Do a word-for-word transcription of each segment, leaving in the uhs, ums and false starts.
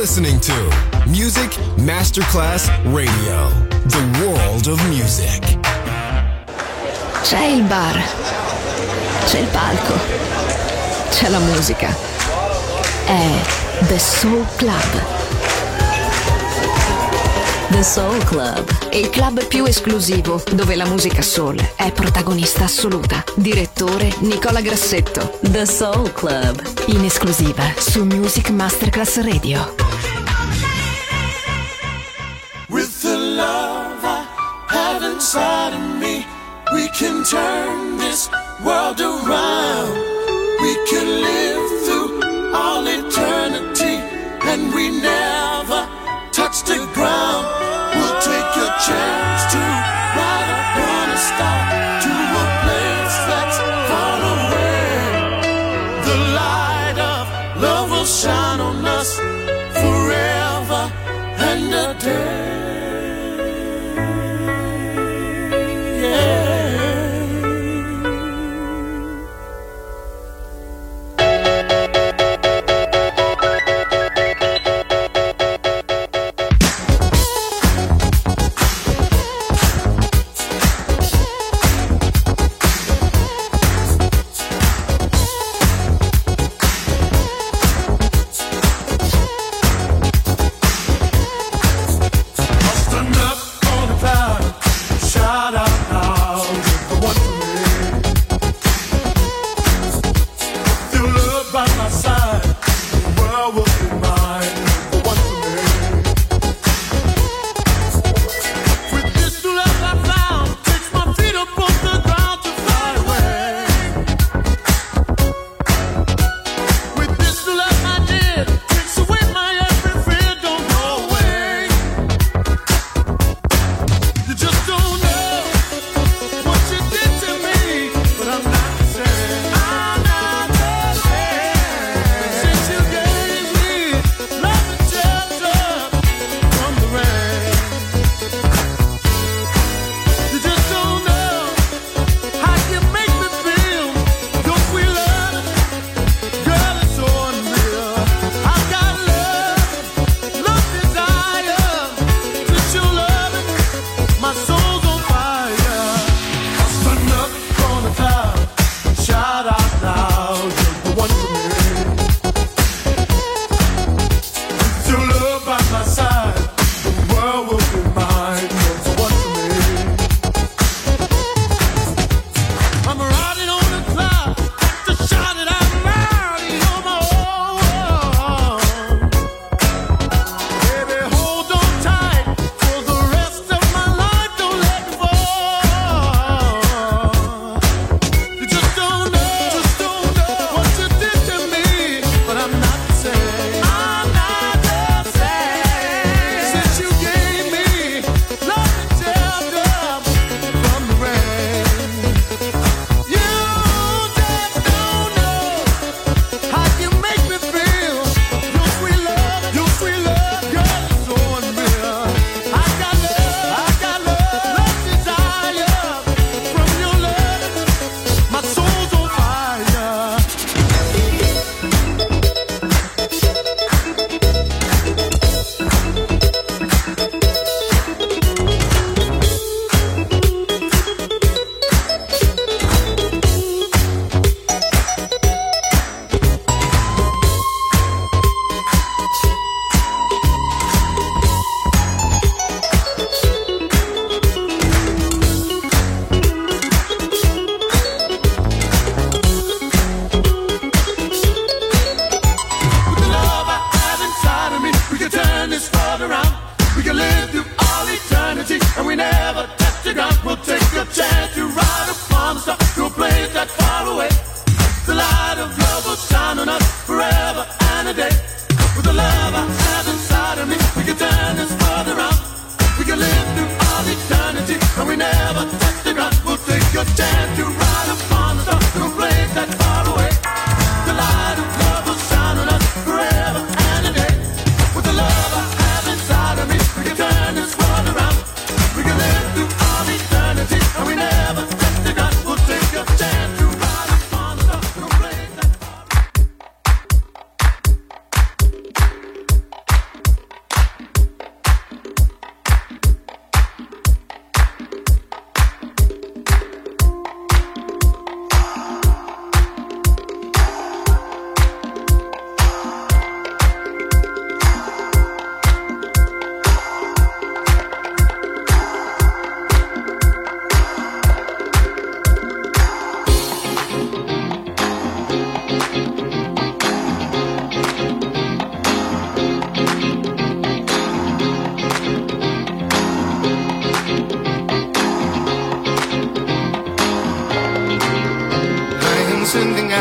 listening to Music Masterclass Radio, the world of music. C'è il bar, c'è il palco, c'è la musica. È The Soul Club. The Soul Club, il club più esclusivo dove la musica soul è protagonista assoluta. Direttore Nicola Grassetto. The Soul Club, in esclusiva su Music Masterclass Radio. With the love I have inside of me, we can turn this world around. We can live through all eternity, and we never touch the ground. We'll take a chance to ride upon a star to a place that's far away. The light of love will shine on us forever and a day.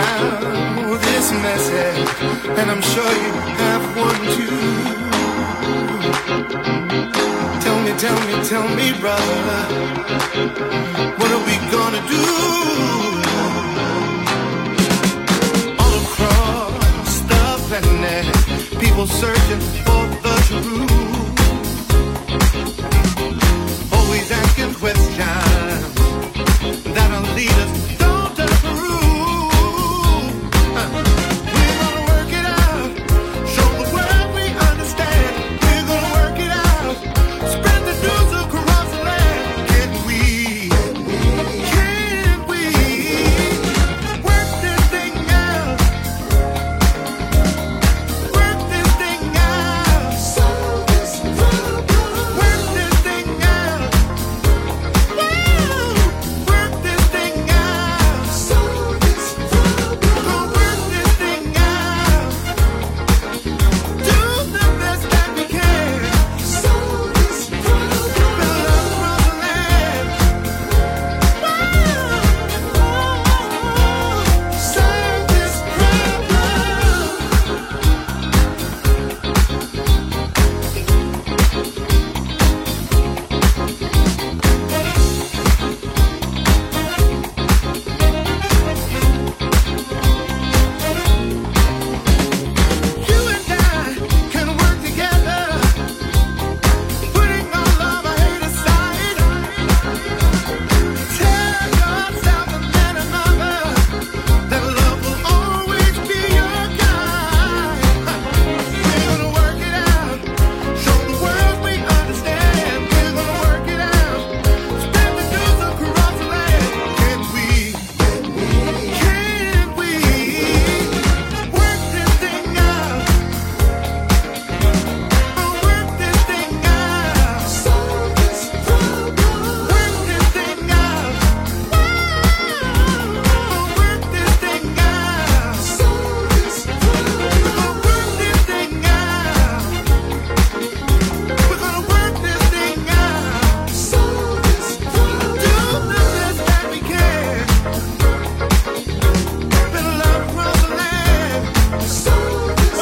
now this message, and I'm sure you have one too. Tell me, tell me, tell me, brother, what are we gonna do? All across the planet, people searching for the truth, always asking questions that'll lead us down to the road. Uh, we're gonna work it out, show the world we understand. We're gonna work it out, spread the news across the land. Can we, can we work this thing out? Work this thing out. Solve this problem. Work this thing out. Work this thing out. Solve this problem. Gonna work this thing out. Do the best that we can. Solve this problem. Build up from the land. Solve this You and I can work together, putting our love and hate aside. Tell yourself and then another that love will always be your guide. We're gonna work it out, show the world we understand. We're gonna work it out, spread the news across the land. Can we, can we work this thing out? Oh, work this thing out. Solve this problem. Work this thing out. Oh, work this thing out. Solve this problem. We're gonna work this thing out. We're gonna work this thing out. Solve this problem. Do the best that we can. Spread love across the land. Solve this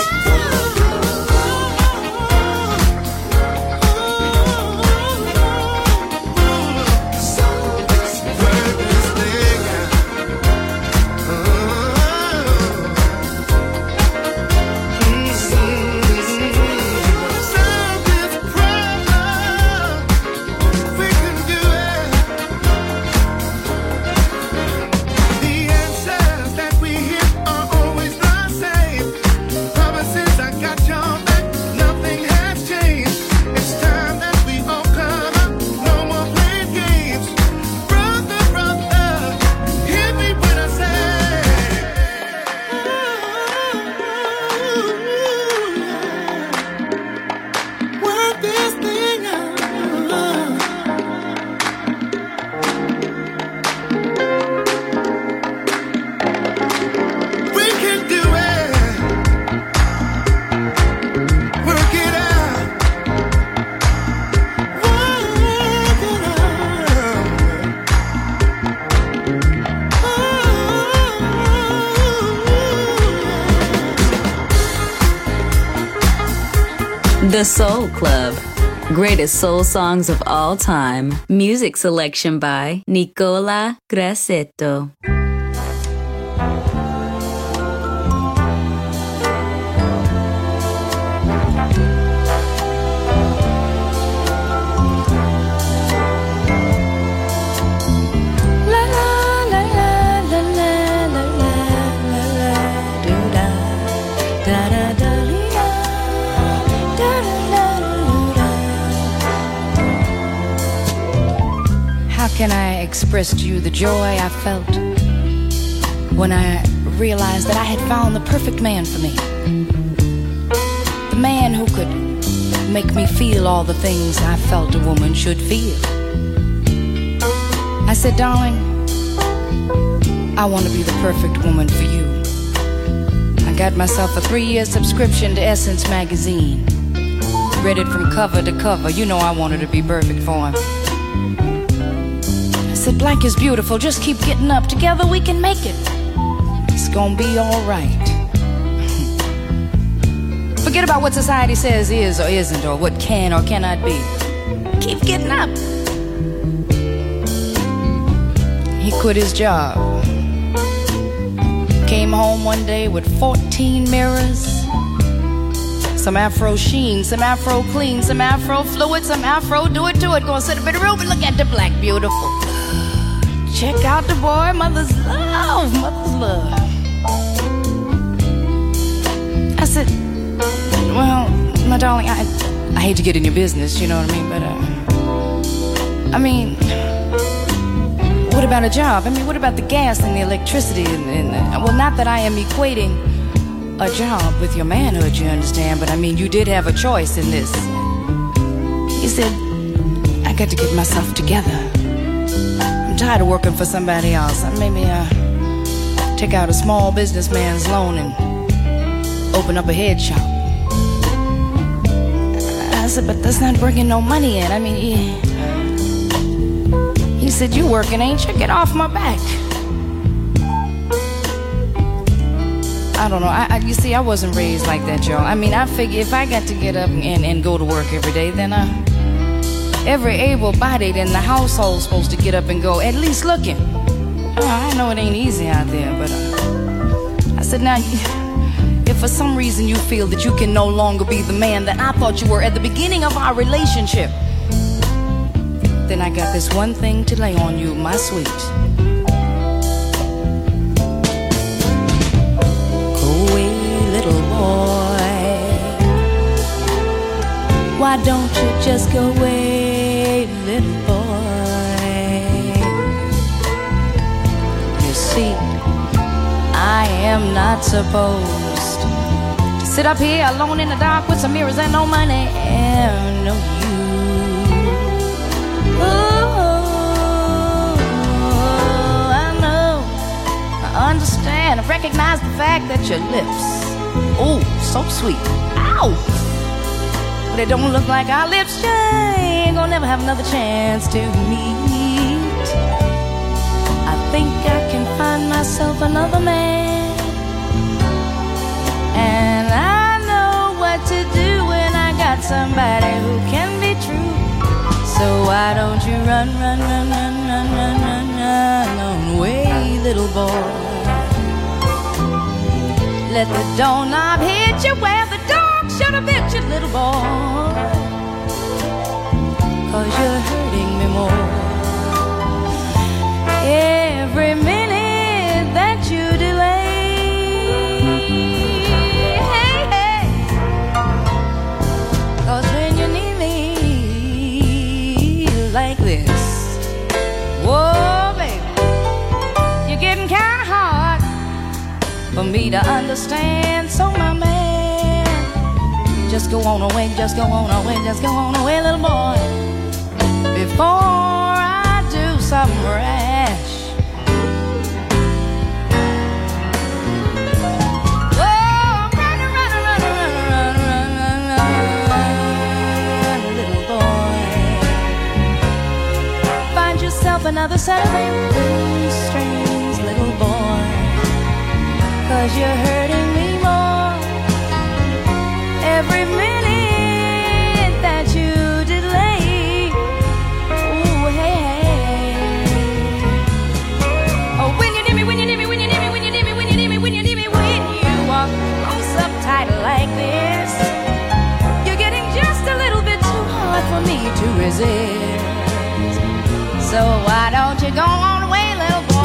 The Soul Club. Greatest soul songs of all time. Music selection by Nicola Grassetto. How can I express to you the joy I felt when I realized that I had found the perfect man for me? The man who could make me feel all the things I felt a woman should feel. I said, darling, I want to be the perfect woman for you. I got myself a three-year subscription to Essence magazine. Read it from cover to cover. You know I wanted to be perfect for him. I said, Blank is beautiful, just keep getting up. Together we can make it. it's gonna be alright. Forget about what society says is or isn't, or what can or cannot be. Keep getting up. He quit his job. Came home one day with fourteen mirrors, some afro sheen, some afro clean, some afro fluid, some afro do it to it. Gonna sit up in the room and look at the black beautiful. Check out the boy, mother's love, mother's love. I said, well, my darling, I I hate to get in your business, you know what I mean, but uh, I mean, what about a job? I mean, what about the gas and the electricity and, and uh, well, not that I am equating a job with your manhood, you understand, but I mean, you did have a choice in this. He said, I got to get myself together. I'm tired of working for somebody else. Maybe uh, take out a small businessman's loan and open up a head shop. I said, but that's not bringing no money in. I mean, he, he said, you working, ain't you? Get off my back. I don't know. I, I, you see, I wasn't raised like that, y'all. I mean, I figure if I got to get up and, and go to work every day, then uh, every able-bodied in the household's supposed to get up and go, at least looking. Oh, I know it ain't easy out there, but uh, I said, now, if for some reason you feel that you can no longer be the man that I thought you were at the beginning of our relationship, then I got this one thing to lay on you, my sweet. Go away, little boy. Why don't you just go away, little boy? You see, I am not supposed to sit up here alone in the dark with some mirrors and no money and no you. Oh, I know, I understand, I recognize the fact that your lips, oh, so sweet, ow, but it don't look like our lips, ain't gonna never have another chance to meet. I think I can find myself another man, and I know what to do when I got somebody who can be true. So why don't you run, run, run, run, run, run, run, run on away, little boy. Let the doorknob hit you where the dog should have bit you, little boy. Cause you're hurting me more every minute that you delay. Hey, hey. Cause when you need me like this, whoa, baby, you're getting kinda hard for me to understand. So my man, just go on away, just go on away, just go on away, little boy, before I do something rash. Oh, run, run, run, run, run, run, run, run, little boy. Find yourself another set of strings, little boy. Cause you're hurting me more every minute that you delay. Ooh, hey, hey. Oh, when you need me, when you need me, when you need me, when you need me, when you need me, when you need me, when you walk close up tight like this, you're getting just a little bit too hard for me to resist. So why don't you go on away, little boy?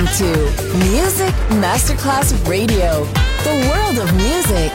listening to Music Masterclass Radio, the world of music.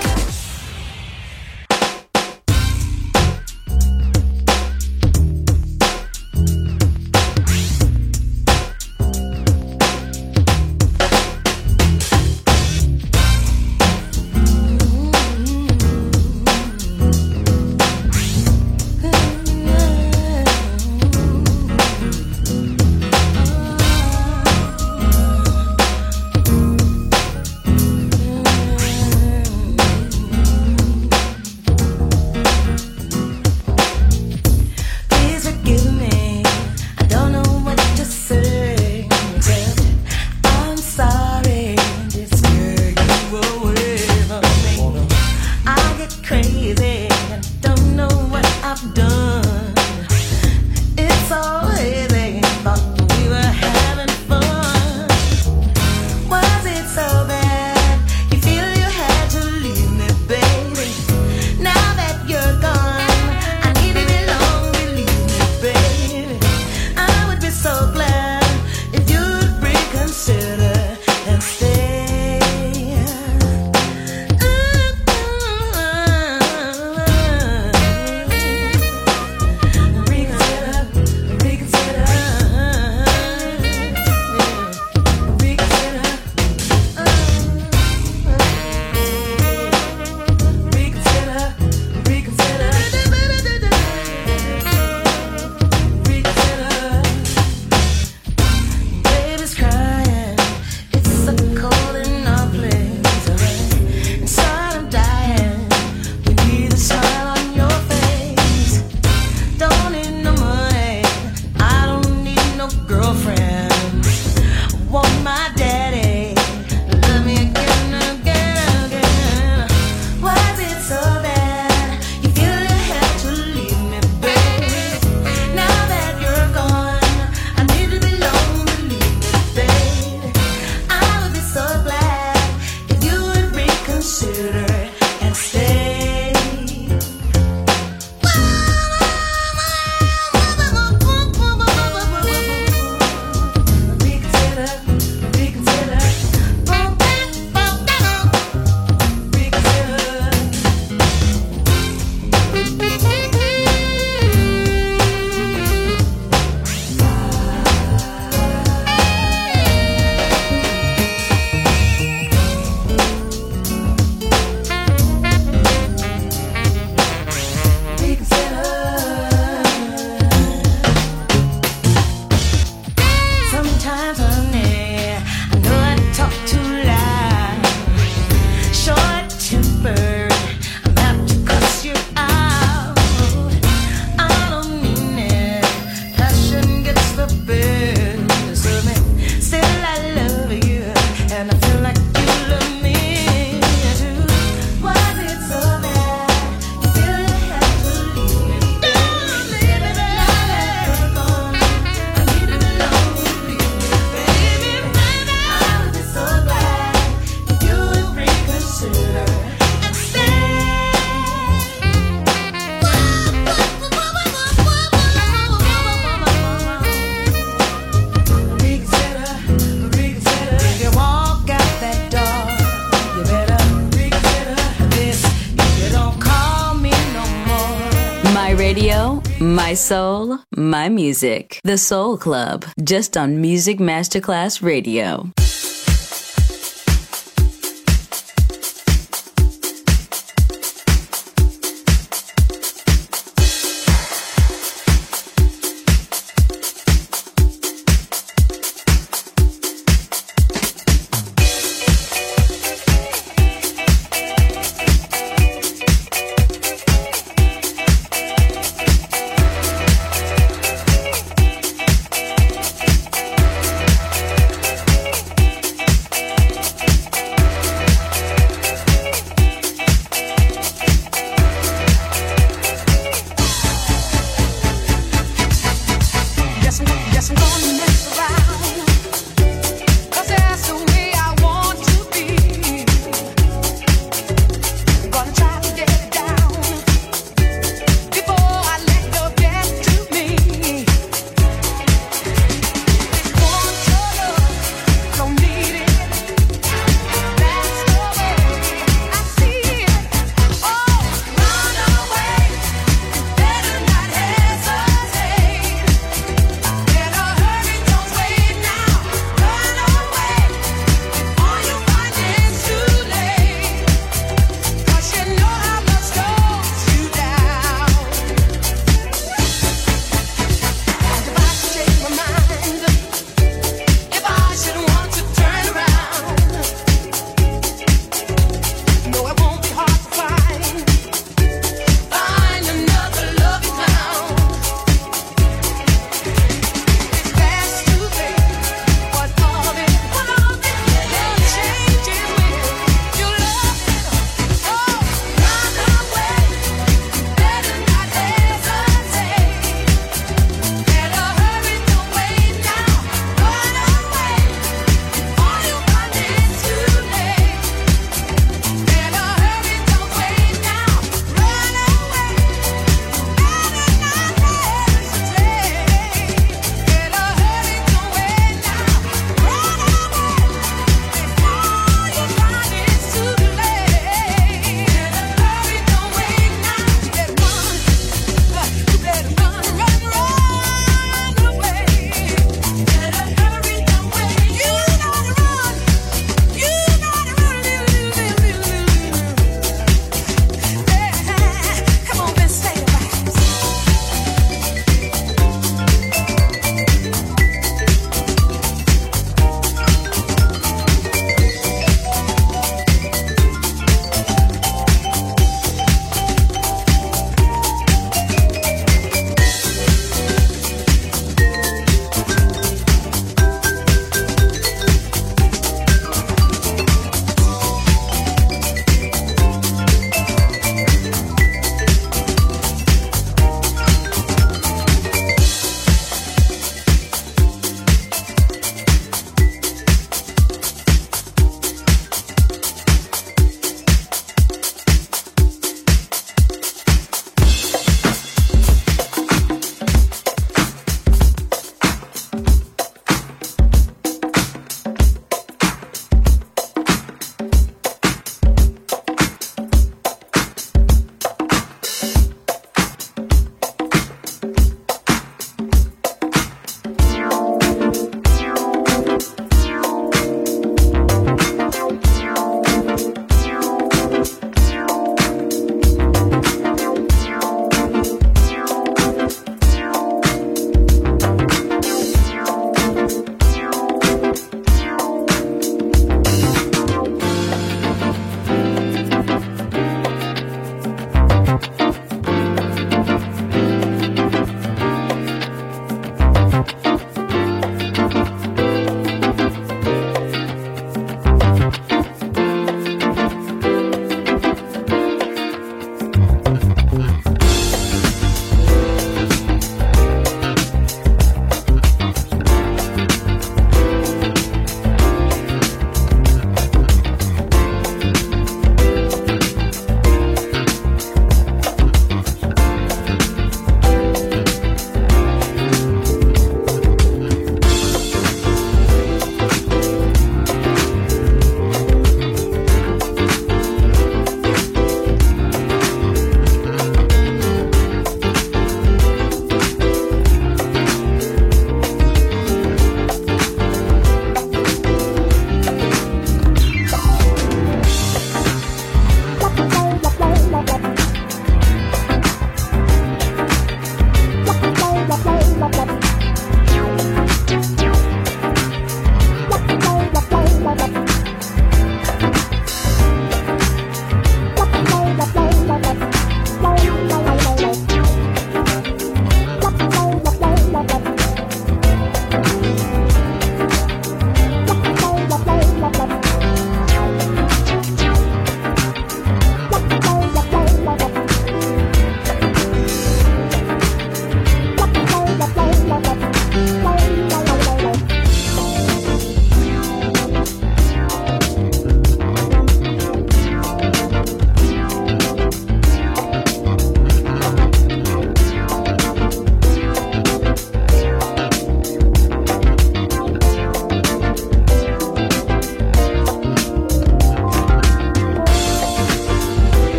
My soul, my music. The Soul Club, just on Music Masterclass Radio.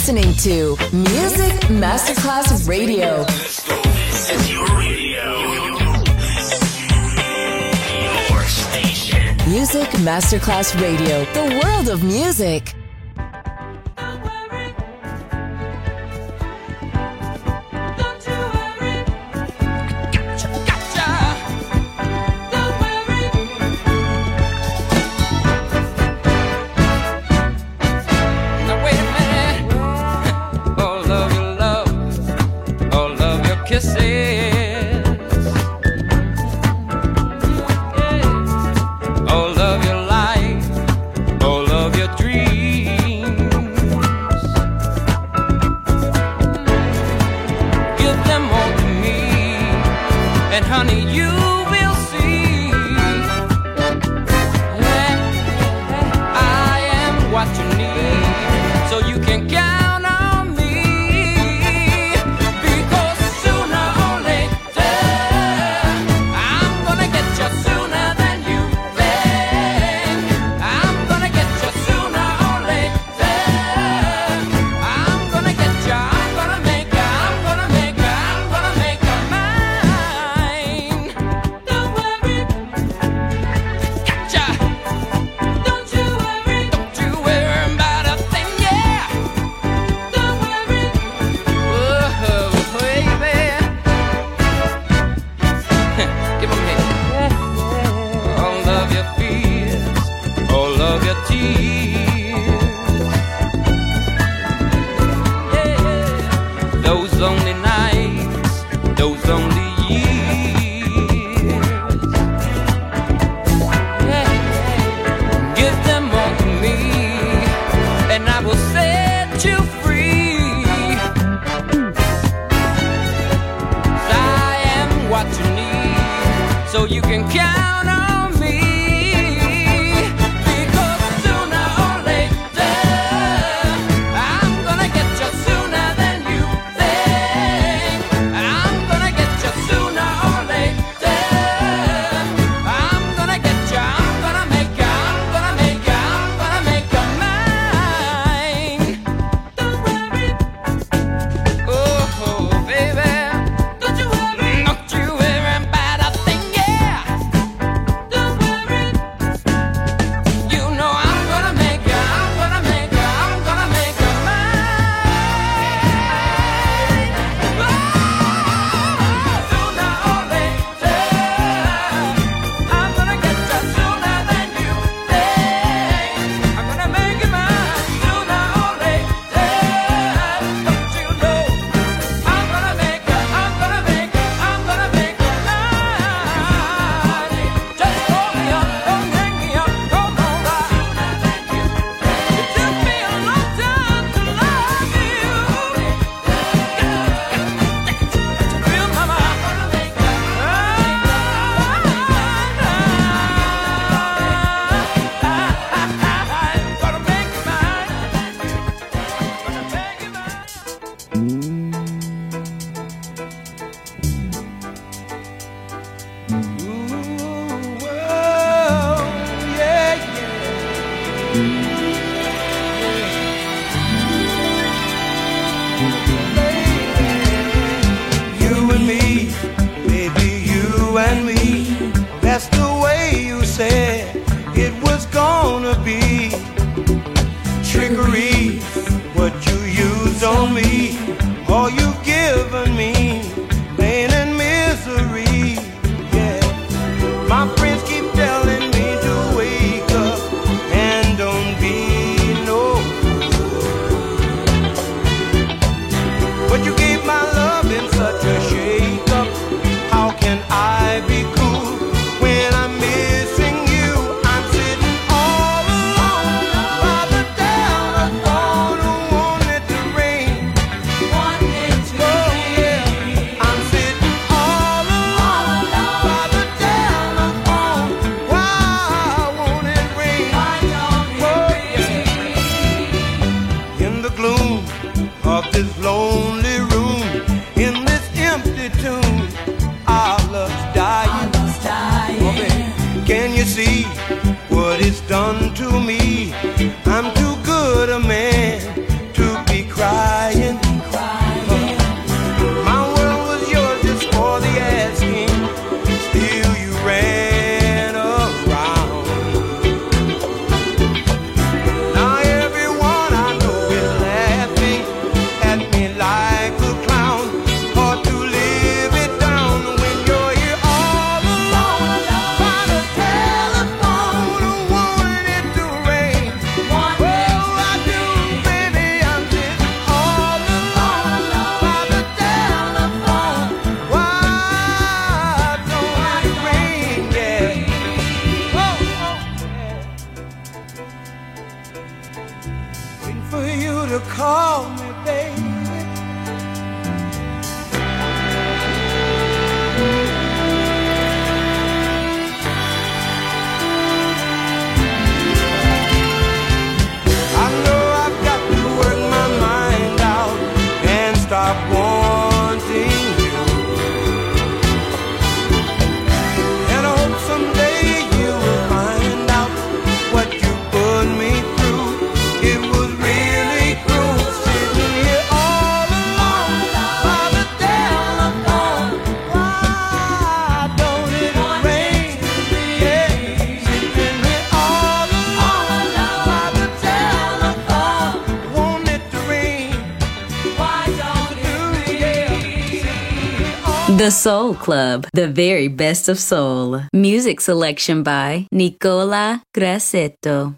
listening to Music Masterclass Radio. This is your radio. Your station. Music Masterclass Radio. The world of music. When I'm missing you, I'm sitting all alone. to call me, baby. I know I've got to work my mind out and stop wanting you. And I hope someday you will find out what you put me through. It was really cruel sitting here all alone by the telephone. Why don't it rain? Yeah, sitting here all alone by the telephone. Want it to rain? Why don't it rain? The Soul Club, the very best of soul. Music selection by Nicola Grassetto.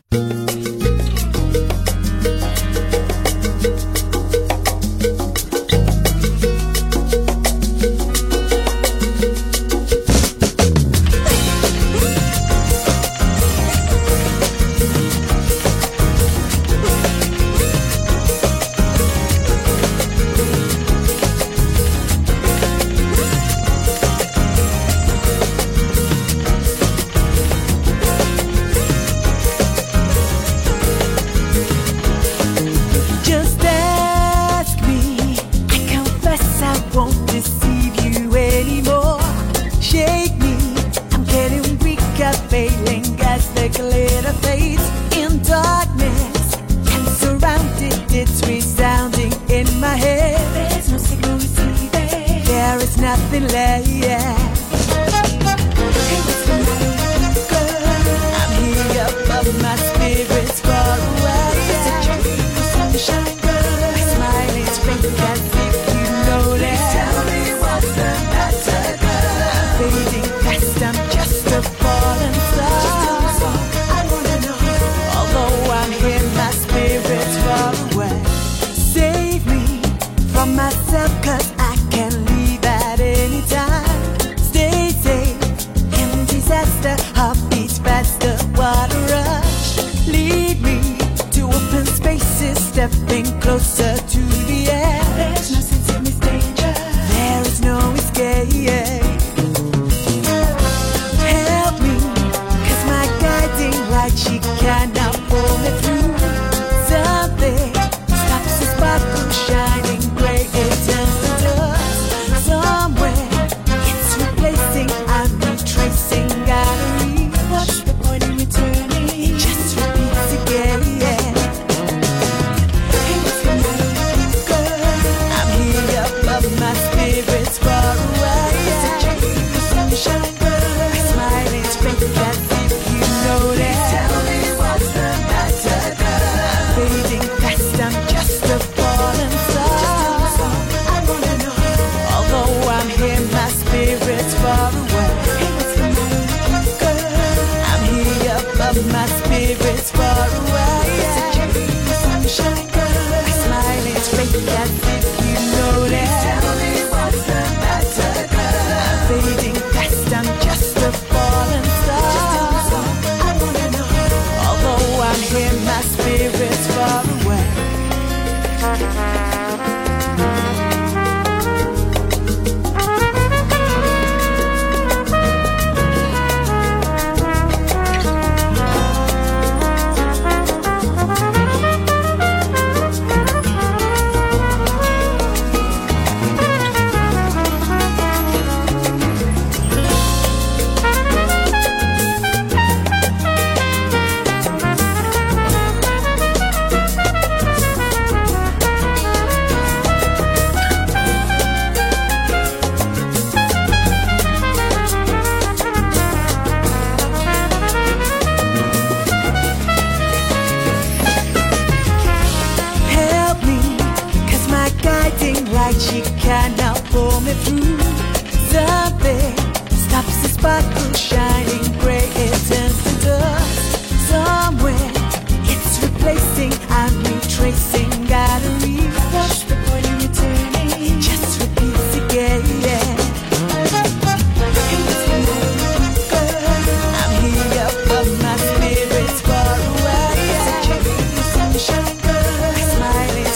Just ask me. I confess I won't deceive you anymore. Shake me. I'm getting weaker, failing as the glitter fades in darkness. And surrounded, it's resounding in my head. There's no signal receiving. There is nothing left. Hey, what's the matter with you, girl? I'm here above my spirits far away. It's a dream, sunshine, girl. My smile is fake as if you know that. Please tell me what's the matter, girl. I'm fading fast, I'm just a falling star. I wanna know. Although I'm here, my spirit's far away. Save me from myself, 'cause I can leave at any time. Stay safe in disaster, heartbeats faster, what a rush. Lead me to open spaces, stepping closer to the air. There's no sense in this danger. There is no escape. Help me, 'cause my guiding light, she cannot pull me through. Something stops the sparkle shining gray, it turns to dust. Somewhere it's replacing, I'm retracing, gotta read. What's the point in returning? It just repeats again. Hey, what's the matter with you, girl? I'm here above my spirits far away. It's a dream, sunshine, girl. My smile is fake as if you know that. Please tell me what's the matter, girl. I'm fading fast, I'm just a falling star. I wanna know. Although I'm here, my spirit's far away. Hey, what's the matter with you, girl? I'm here above my spirits far away. It's a dream, sunshine, girl. My smile is fake as if you know that. Please tell me what's the matter, girl. I'm fading fast, I'm just a falling star. I wanna know. Although I'm here, my spirit's far away. Help me, 'cause my guiding light, she cannot pull me through. Something stops the sparkle shining gray, it turns to dust. Somewhere it's replacing, I'm retracing, gotta read. What's the point in returning? It just repeats again. Hey, what's the matter with you, girl? I'm here above my spirits far away. It's a dream, sunshine, girl. My smile is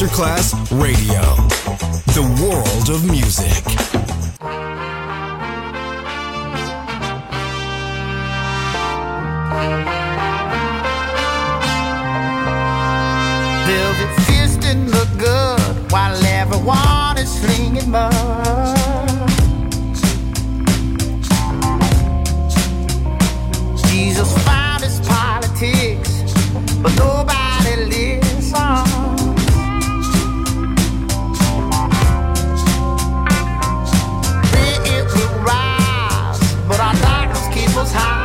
Masterclass Radio. The world of music. Velvet fist didn't look good while everyone is slinging mud. Jesus found his politics, but nobody listens. Then it will rise, but our darkness keeps us high.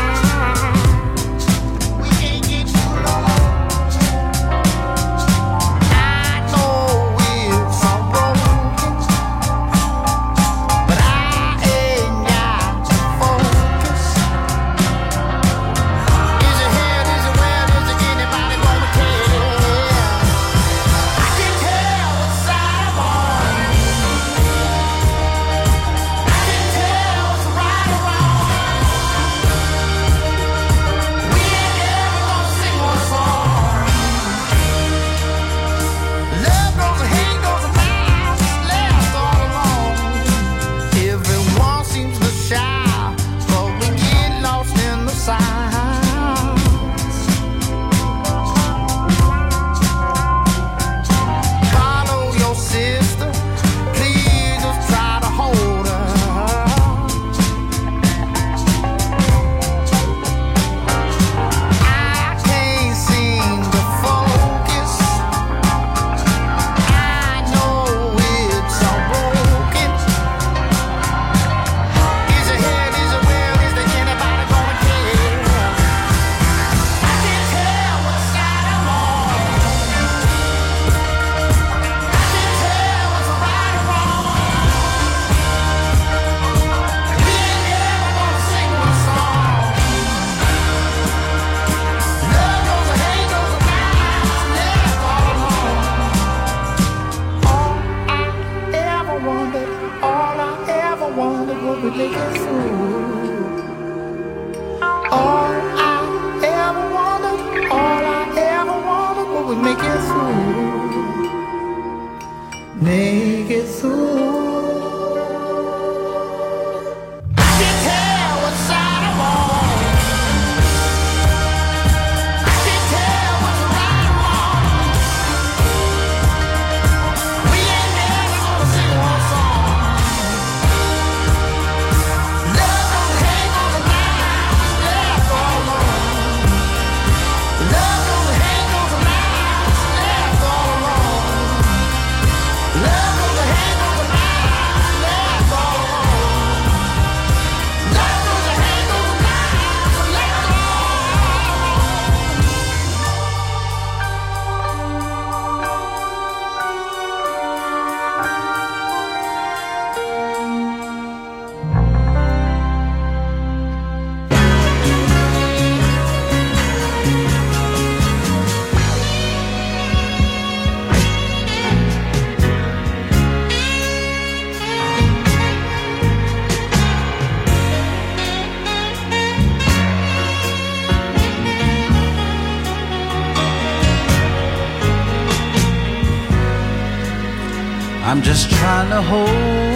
I'm just trying to hold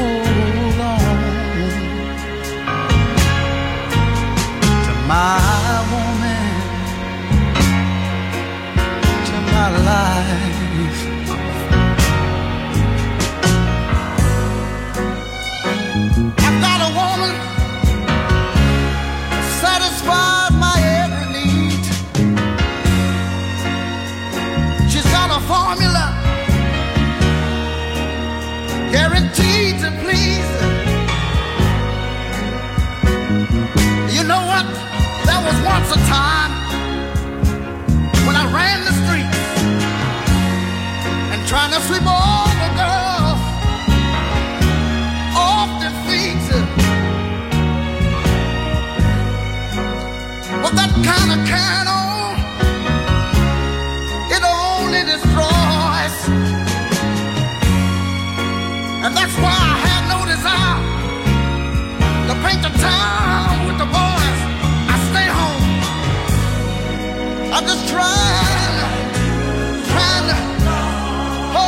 on to my woman, to my life. I've got a woman who satisfies my every need. She's got a formula guaranteed to please. You know what? There was once a time when I ran the streets and trying to sweep all the girls off their feet. But that kind of carrying on, it only destroys. And that's why I had no desire to paint the town with the boys. I stay home. I'm just trying, trying to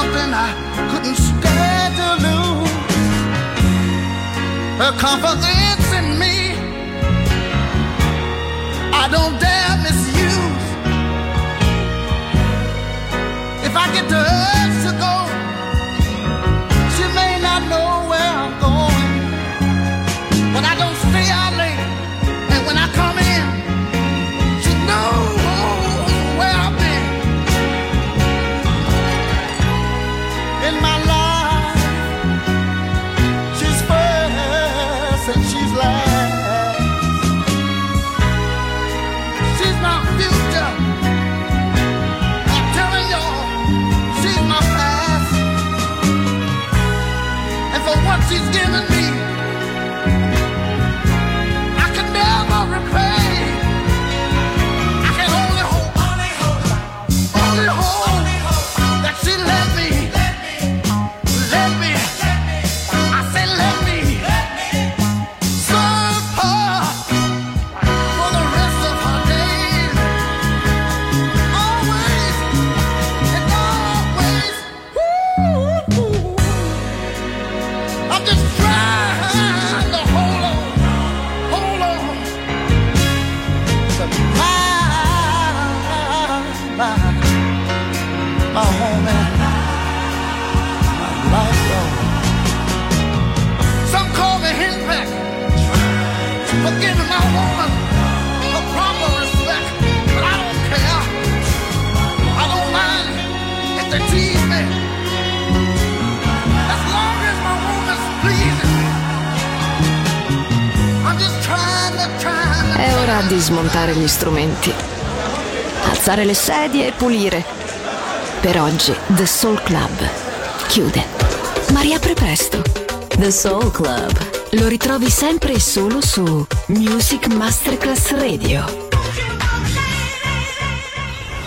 something I couldn't stand to lose. Her confidence in me, I don't dare misuse. If I get the urge to go, she may not know where I'm going, but I don't stay out late, and when I come in, she knows where I've been. In my life, she's first and she's last. She's my future, I'm telling y'all, she's my past. And for what she's given me, I can never repay. I can only hope, only hope that she let me, let me, I say let me serve her for the rest of her days. Always and always. Woo-hoo. I'm just trying to hold on, hold on to my, my, my home and my life. Lord. Some call me henpeck for giving my woman a proper respect, but I don't care. I don't mind if they tease me, as long as my woman's pleasing me. I'm just trying to, trying to. È ora di smontare gli strumenti, alzare le sedie e pulire. Per oggi The Soul Club chiude, ma riapre presto. The Soul Club. Lo ritrovi sempre e solo su Music Masterclass Radio.